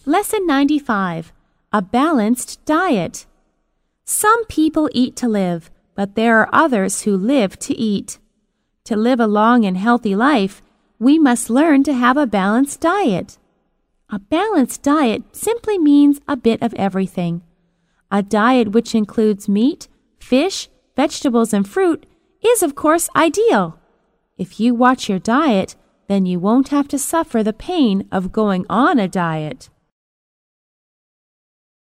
Lesson 95. A balanced diet. Some people eat to live, but there are others who live to eat. To live a long and healthy life, we must learn to have a balanced diet. A balanced diet simply means a bit of everything. A diet which includes meat, fish, vegetables, and fruit is, of course, ideal. If you watch your diet, then you won't have to suffer the pain of going on a diet.